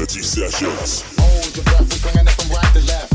Dirty Sessions. Hold your breath, we swinging it from right to left.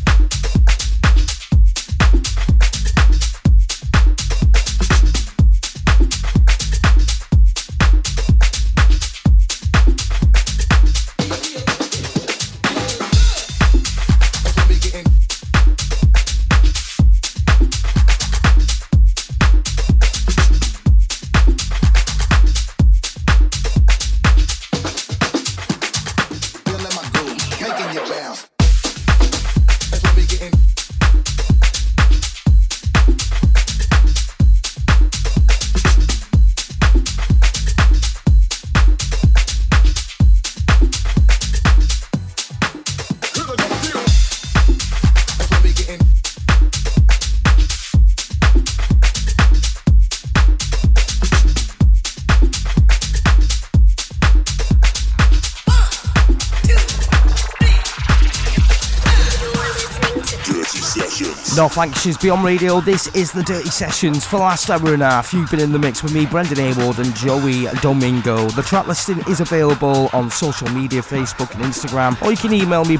No thanks, she's Beyond Radio. This is the Dirty Sessions. For the last hour and a half, you've been in the mix with me, Brendan Hayward and Joey Domingo. The track listing is available on social media, Facebook and Instagram, or you can email me,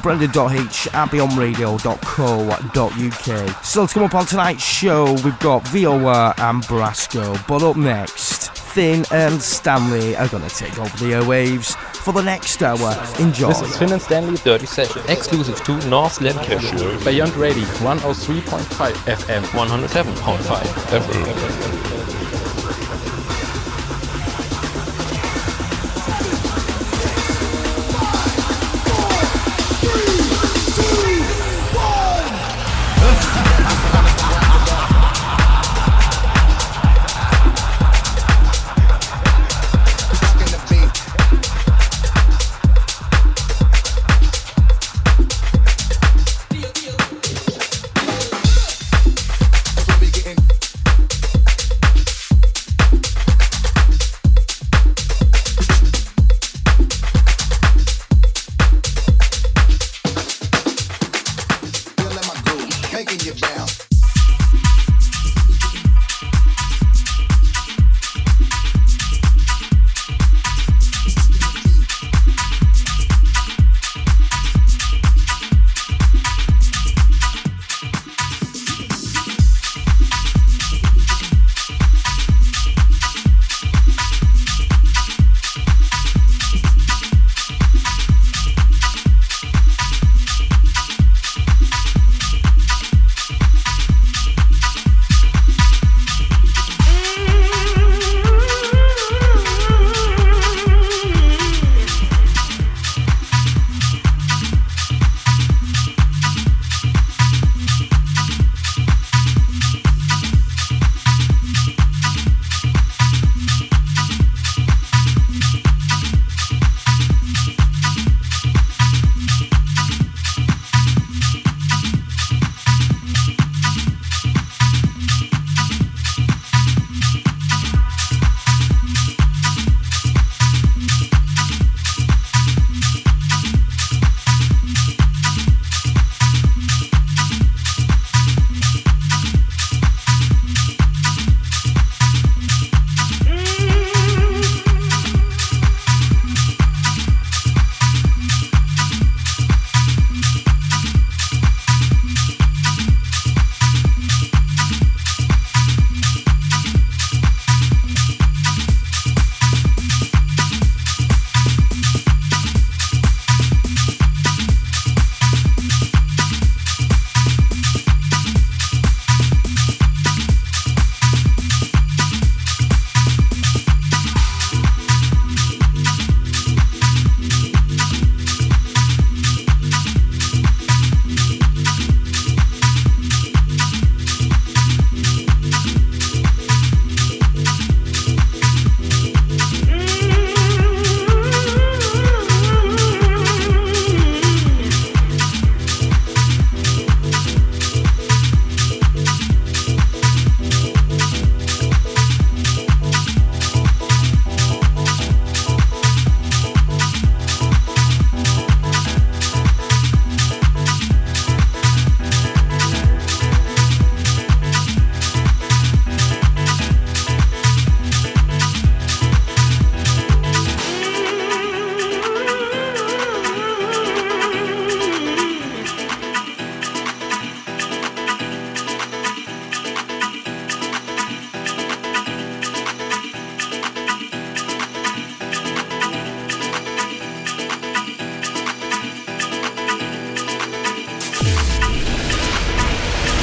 brendan.h@beyondradio.co.uk. Still to come up on tonight's show, we've got VOA and Brasco. But up next, Finn and Stanley are going to take over the airwaves for the next hour. Enjoy. This is Finn and Stanley Dirty Session, exclusive to North Lancashire. Beyond Radio, 103.5 FM, 107.5 FM.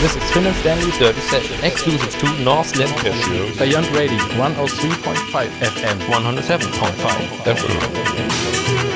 This is Finn and Stanley's Dirty Session, exclusive to North Lancashire, Beyond Radio, 103.5 FM, 107.5 FM.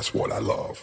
That's what I love.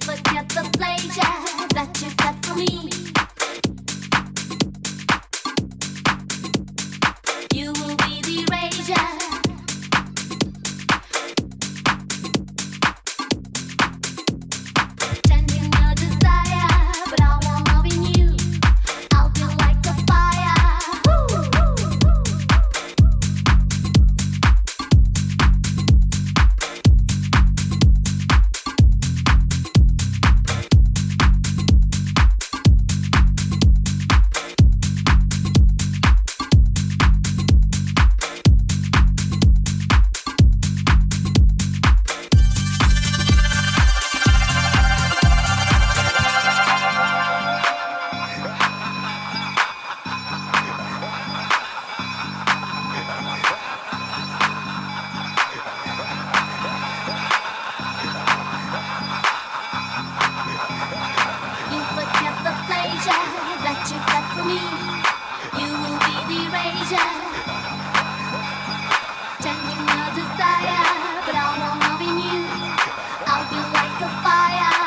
forget the pleasure that you got from me. You will be the erasure. Changing your desire, but I won't love in you. I'll be like a fire. You forget the pleasure that you got from me. You will be the erasure. Changing your desire, but I won't love in you. I'll be like a fire.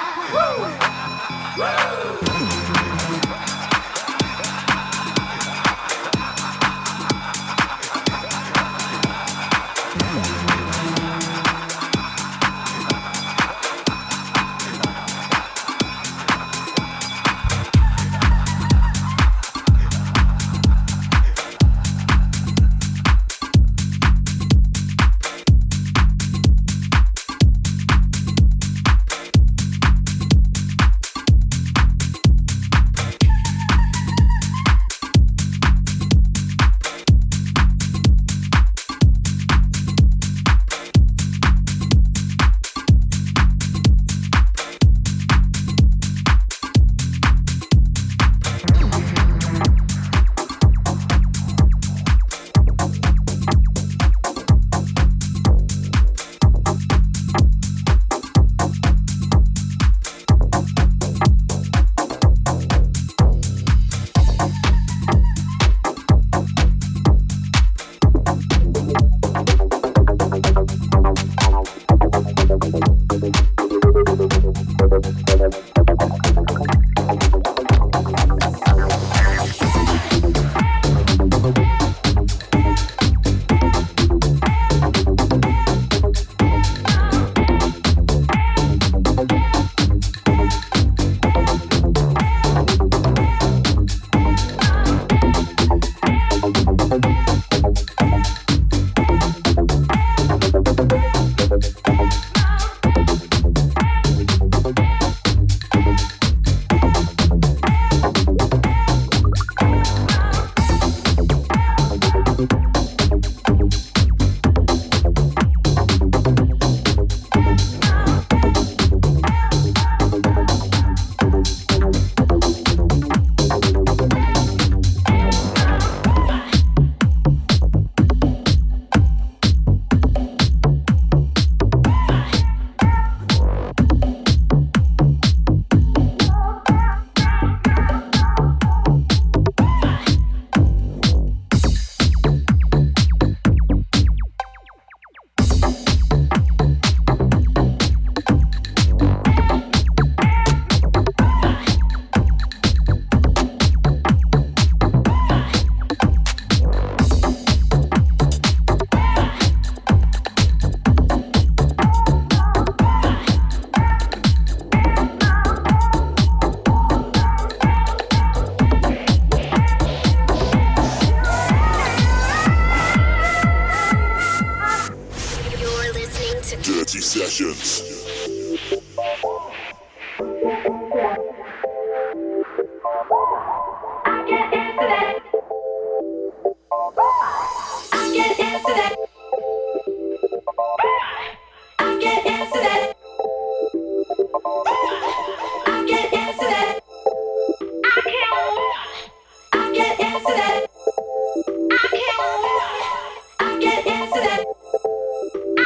Sessions.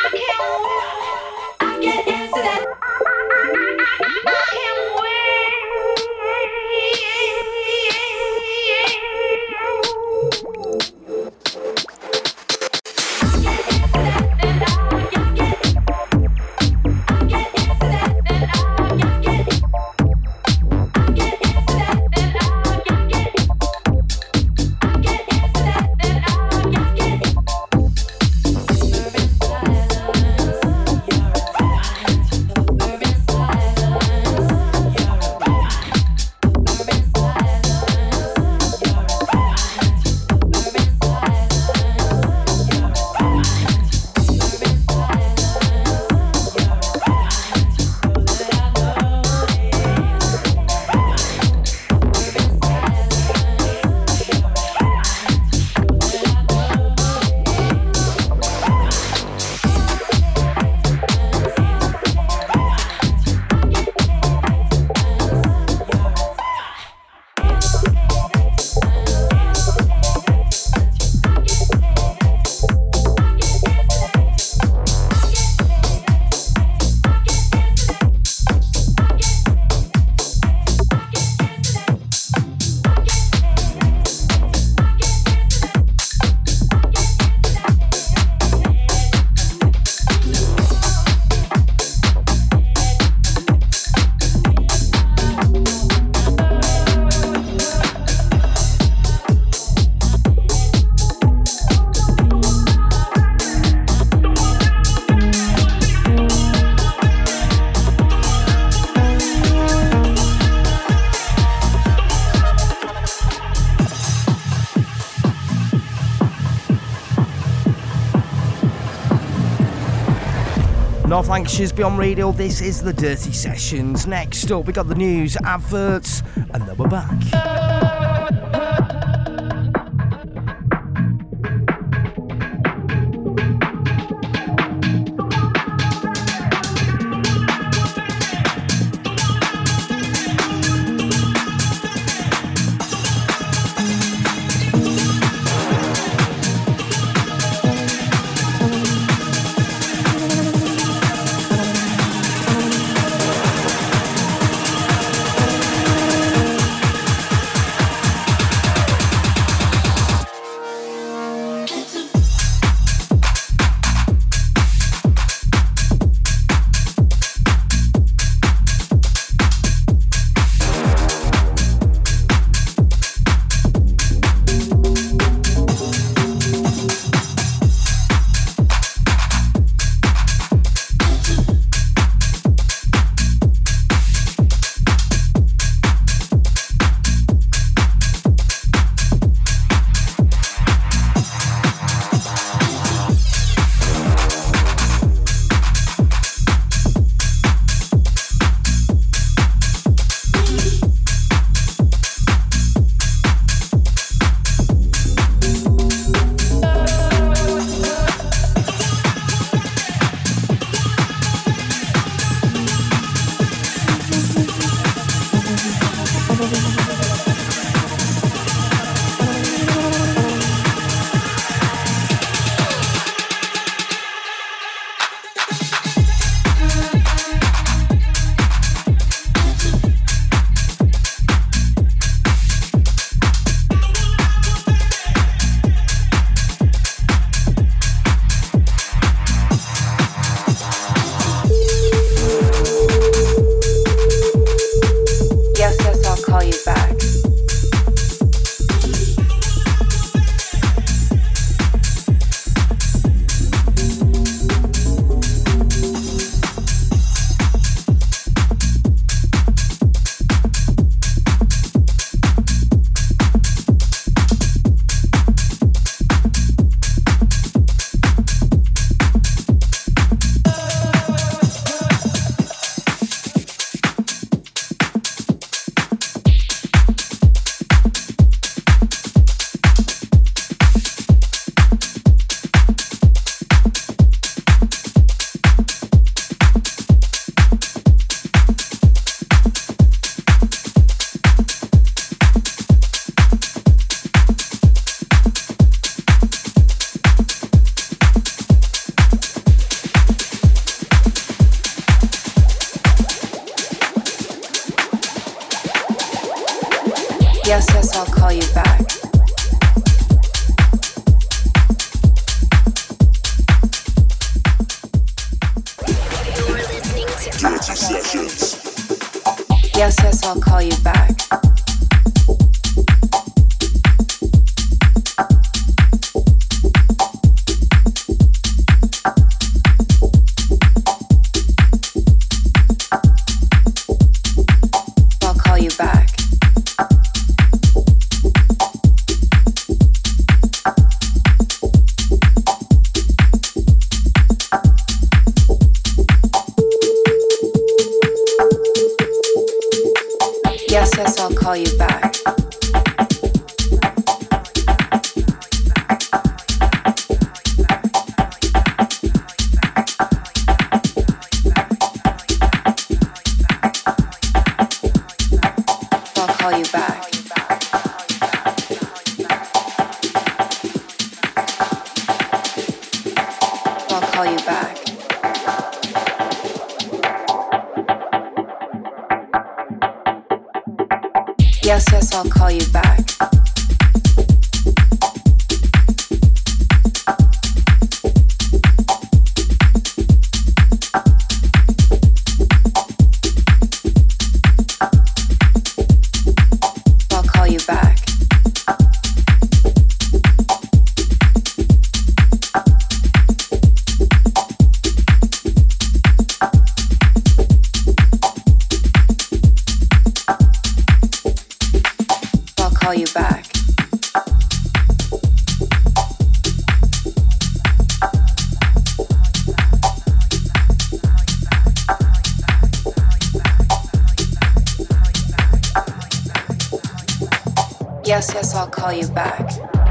I can't wait. North Lancashire's Beyond Radio, this is the Dirty Sessions. Next up, we got the news, adverts, and then we're back. Yes, I'll call you back. You're listening to Dirty Sessions. Yes, I'll call you back. I'll call you back. Yes, I'll call you back. I'll call you back. I'll call you back. Yes, I'll call you back. I'll call you back. I'll call you Yes, yes, I'll call you back.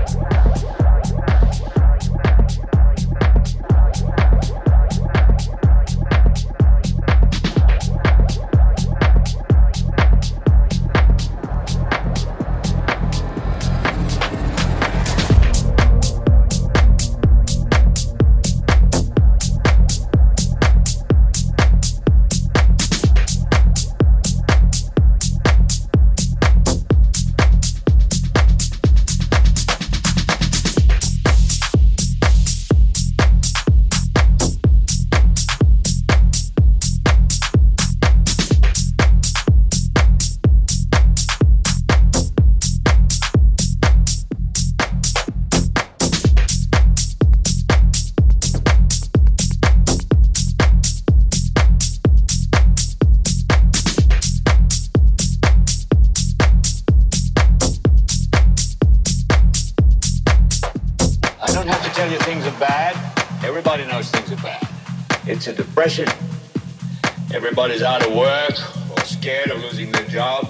It's a depression. Everybody's out of work or scared of losing their job.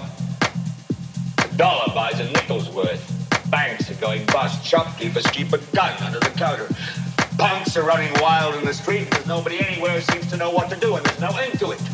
A dollar buys a nickel's worth. Banks are going bust. Shopkeepers keep a gun under the counter. Punks are running wild in the street. There's nobody anywhere who seems to know what to do, and there's no end to it.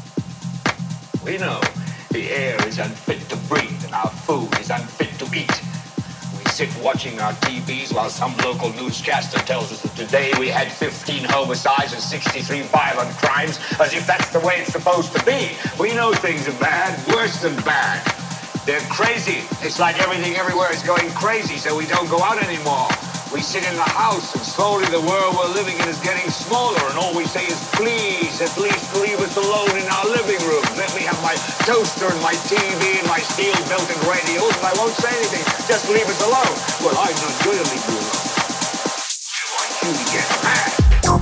We know the air is unfit to breathe and our food is unfit to eat. Sit watching our TVs while some local newscaster tells us that today we had 15 homicides and 63 violent crimes, as if that's the way it's supposed to be. We know things are bad, worse than bad. They're crazy. It's like everything everywhere is going crazy, so we don't go out anymore. We sit in the house, and slowly the world we're living in is getting smaller, and all we say is, please, at least leave us alone in our living room. Let me have my toaster and my TV and my steel-belted radios, and I won't say anything. Just leave us alone. Well, I'm not going to leave you alone. I want you to get mad.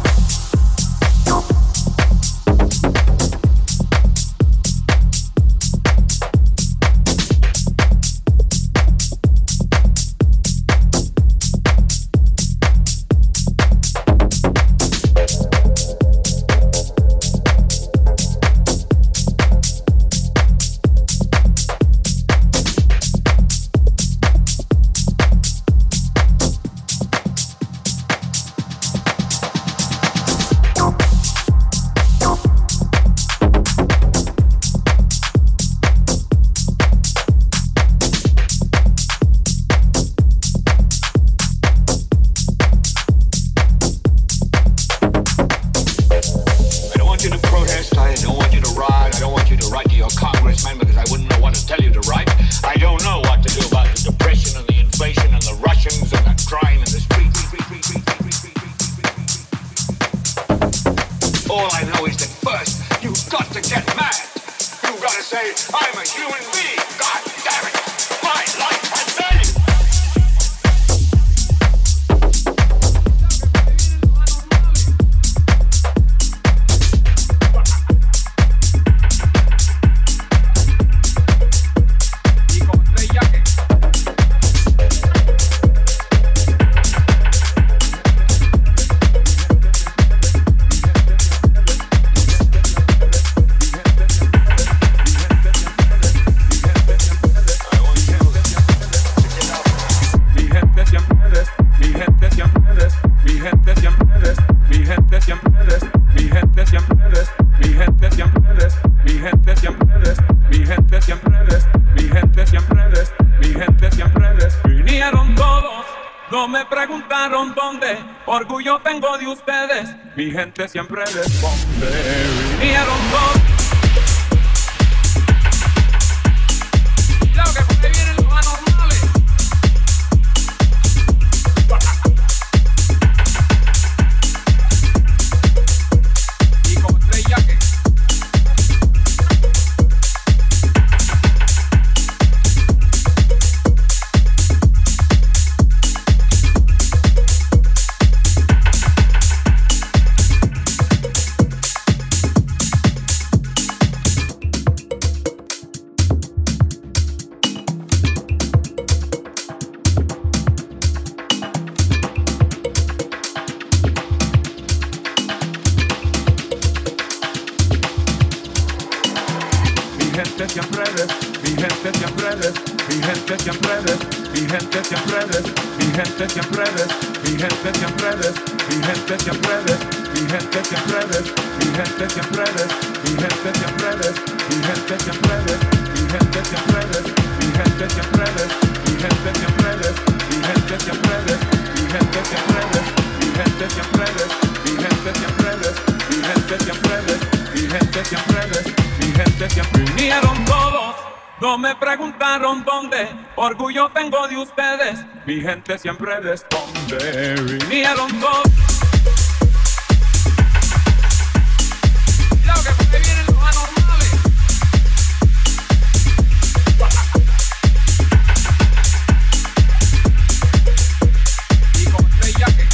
Mi gente siempre responde. Vinieron todos. Claro que por ahí vienen los anormales. Y como Estrella que mi gente siempre mi gente siempre eres, mi gente siempre eres, mi gente siempre eres, mi gente siempre eres, mi gente siempre eres, mi gente siempre eres, mi gente siempre eres, mi gente siempre eres, mi gente siempre eres, mi gente siempre eres, mi gente siempre eres, mi gente siempre eres, mi gente siempre eres, mi gente siempre eres, mi gente siempre eres, mi gente siempre eres, mi gente siempre eres, mi gente siempre eres, mi gente siempre vinieron todos. No me preguntaron dónde, orgullo tengo de ustedes. Mi gente siempre responde. Vinieron todos. Cuidado que por ahí vienen los anormales. Y con Stray Jacket.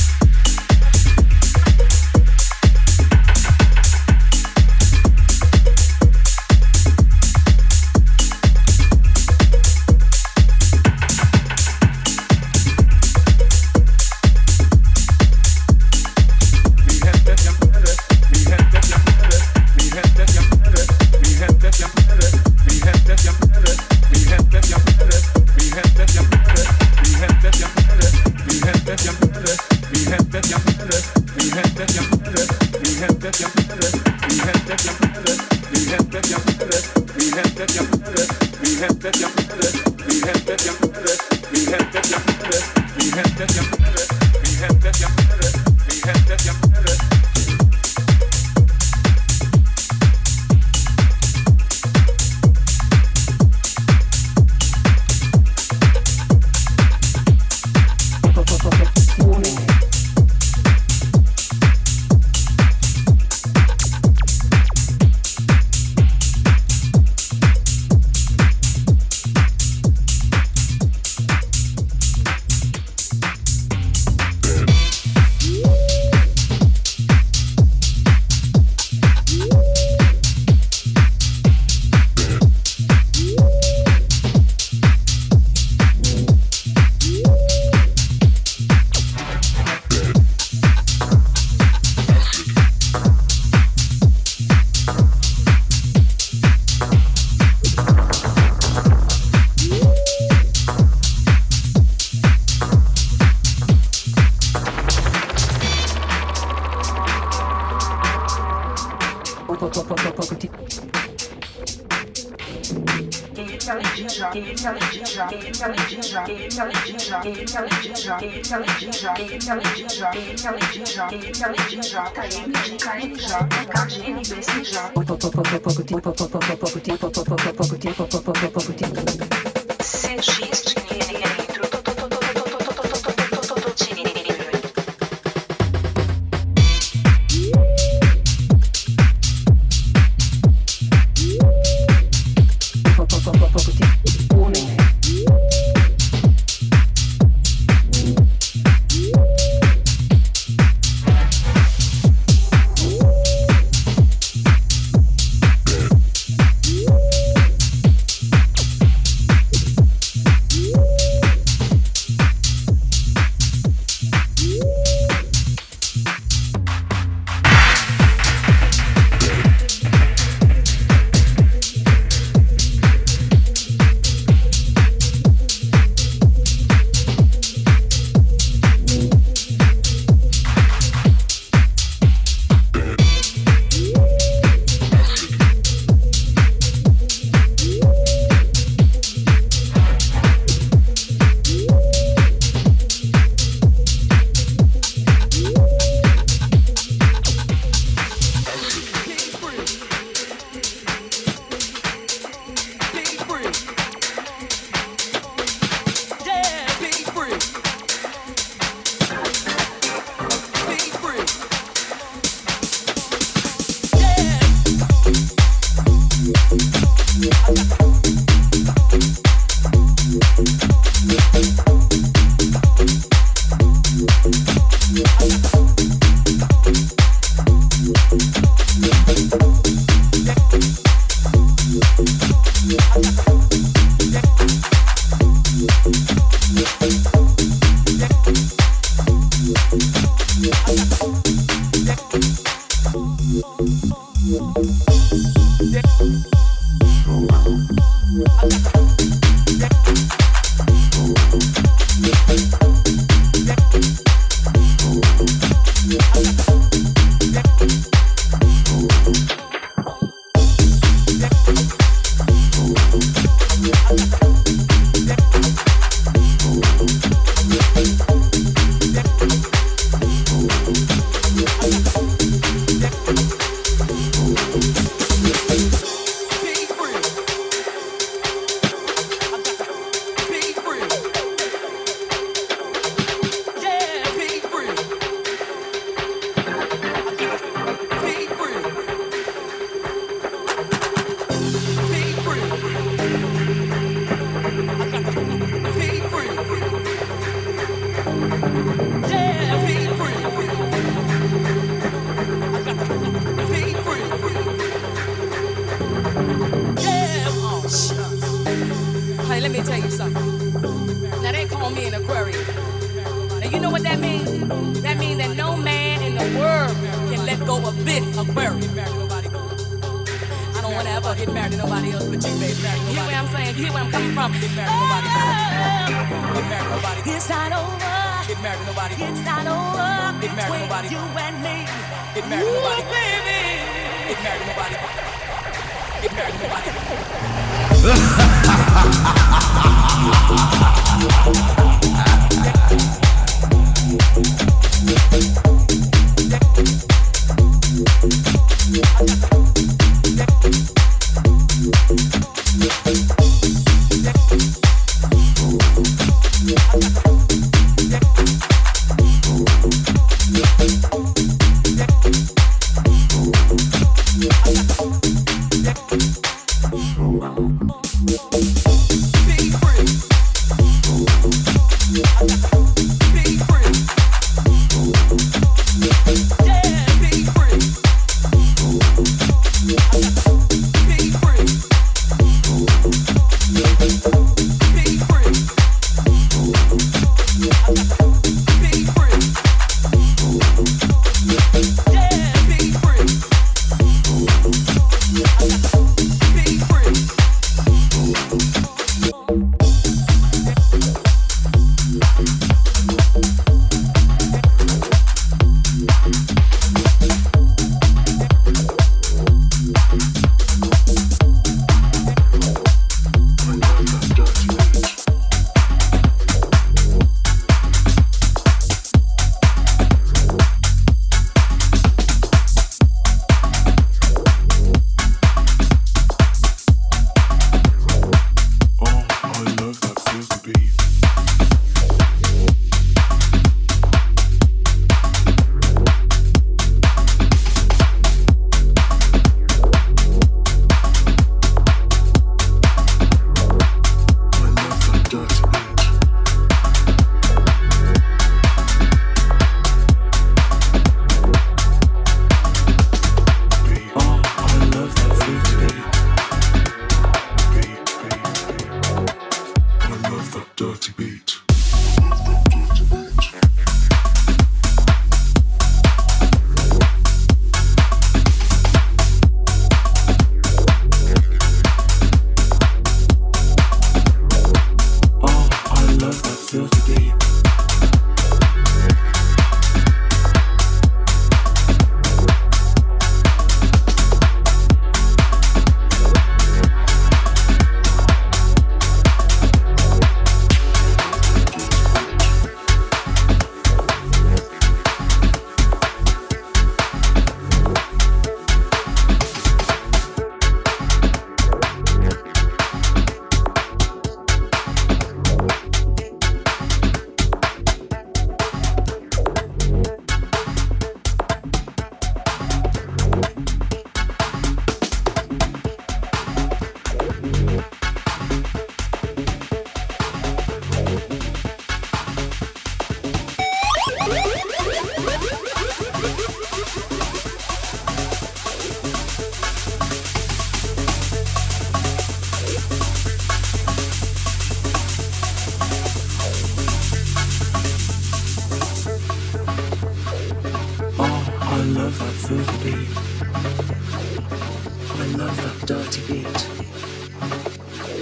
dirty beat.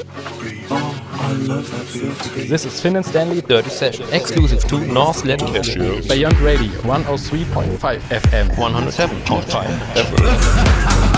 This is Finn and Stanley Dirty Session, exclusive to North Lancashire. Beyond Radio, 103.5 FM, 107.5 FM.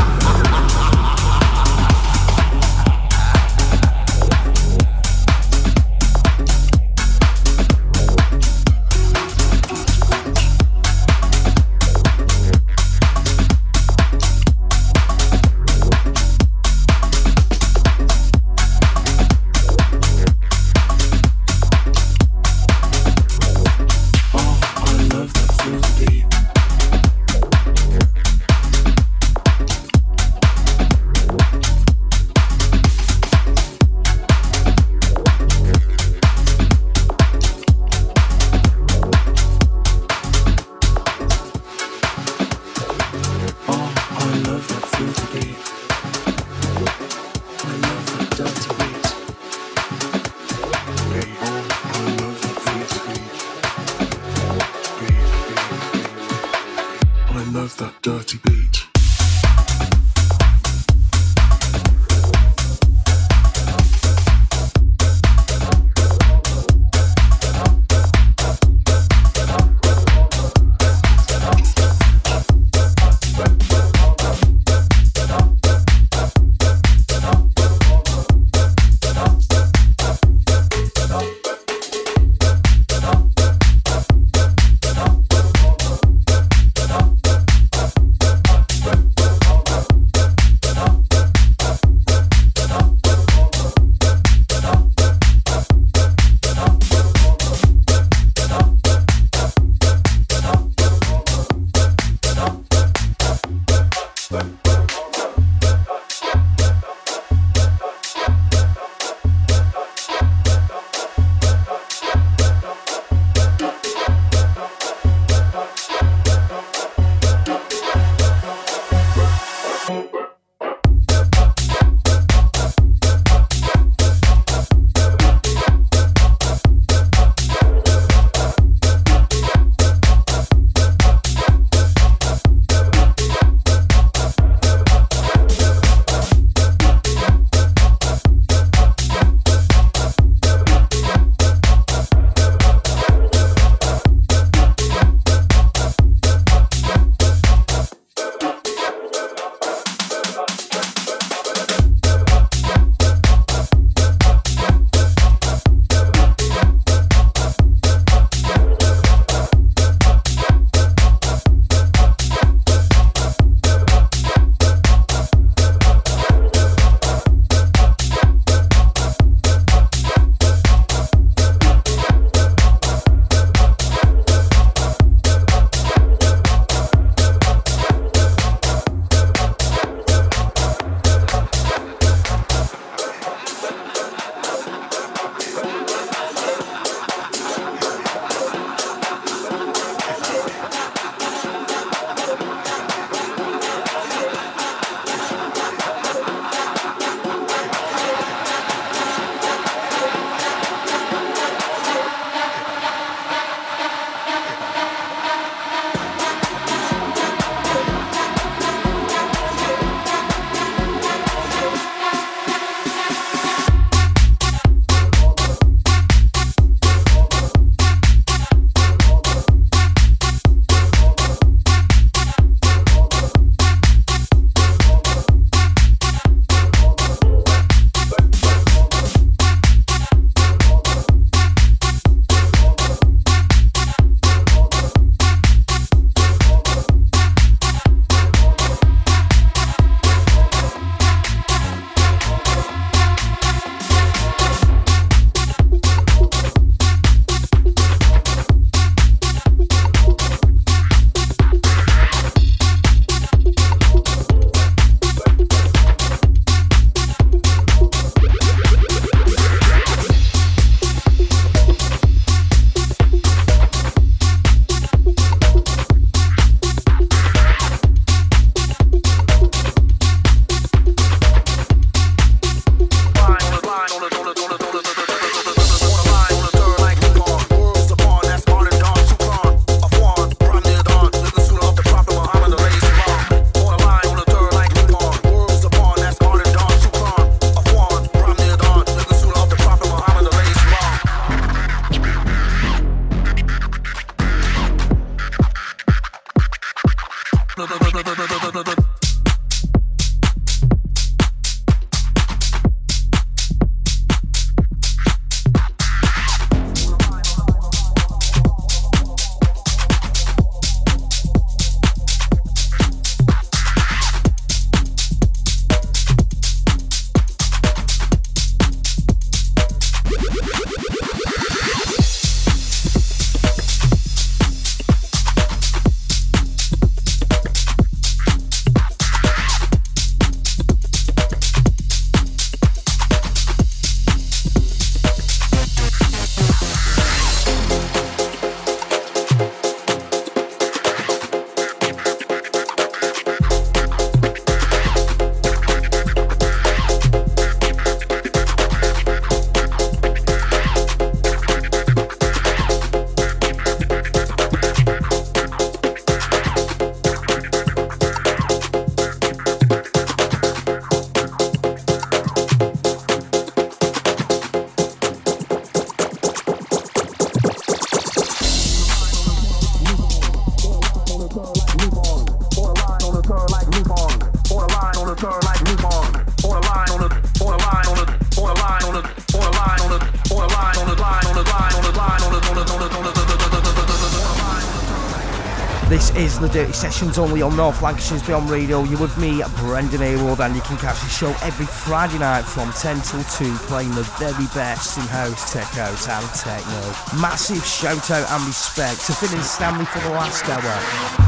is the Dirty Sessions only on North Lancashire's Beyond Radio. You're with me, Brendan Haywood, and you can catch the show every Friday night from 10 till 2, playing the very best in house, tech house and techno. Massive shout out and respect to Finn and Stanley for the last hour.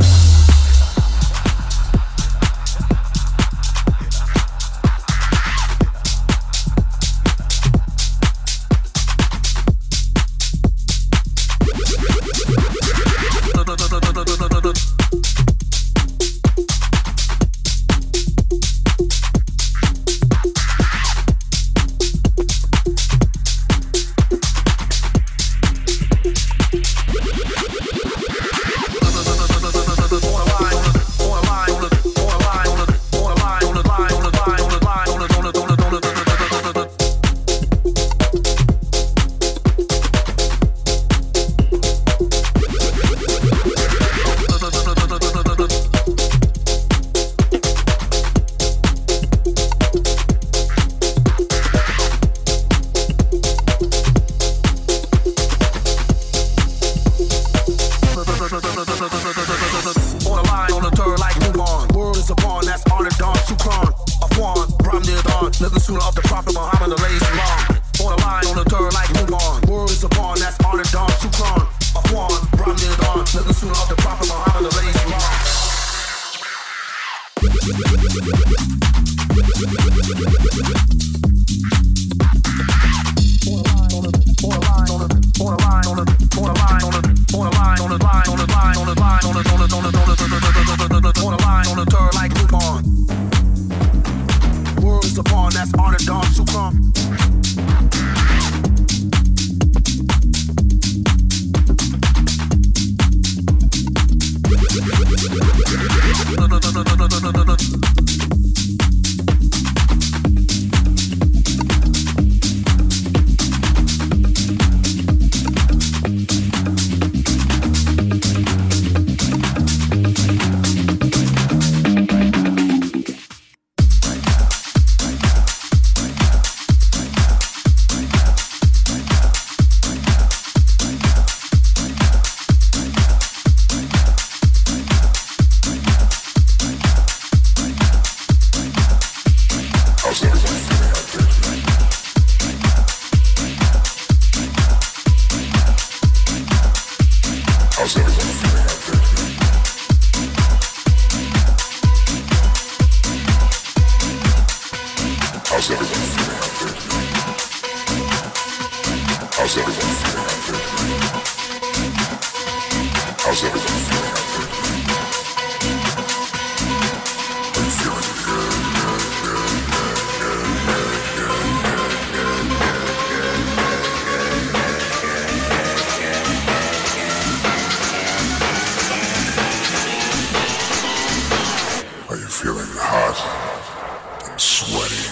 Feeling hot and sweaty.